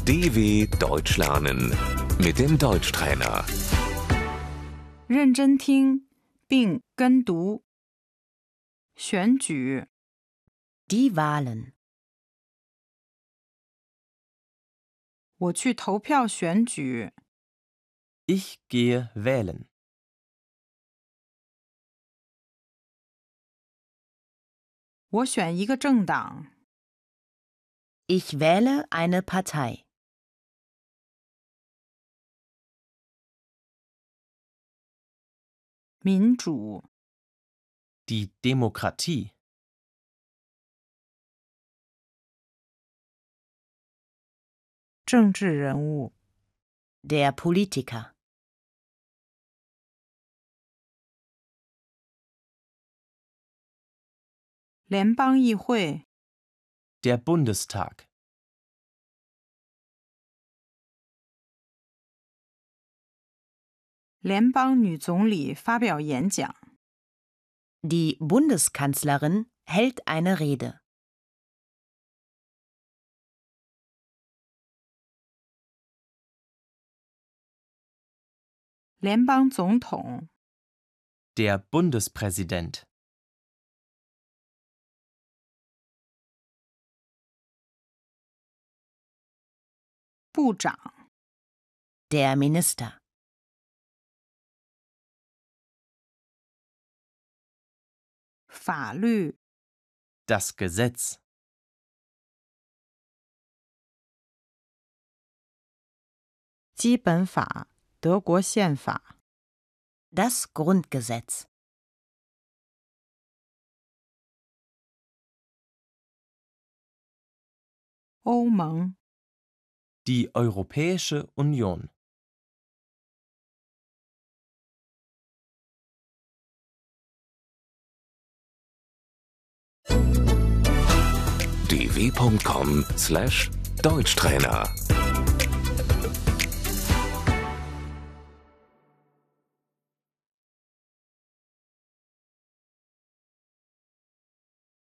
DW Deutsch lernen mit dem Deutschtrainer. 认真听并跟读。选举， Die Wahlen. 我去投票选举。 Ich gehe wählen. 我选一个政党。 Ich wähle eine Partei. 民主， Die Demokratie. 政治人物， Der Politiker. 联邦议会， Der Bundestag. 联邦女总理发表演讲。 Die Bundeskanzlerin hält eine Rede. 联邦总统， Der Bundespräsident. 部长， Der Minister. 法律， Das Gesetz. 基本法，德国宪法。 Das Grundgesetz. 欧盟， Die Europäische Union. dw.com/Deutschtrainer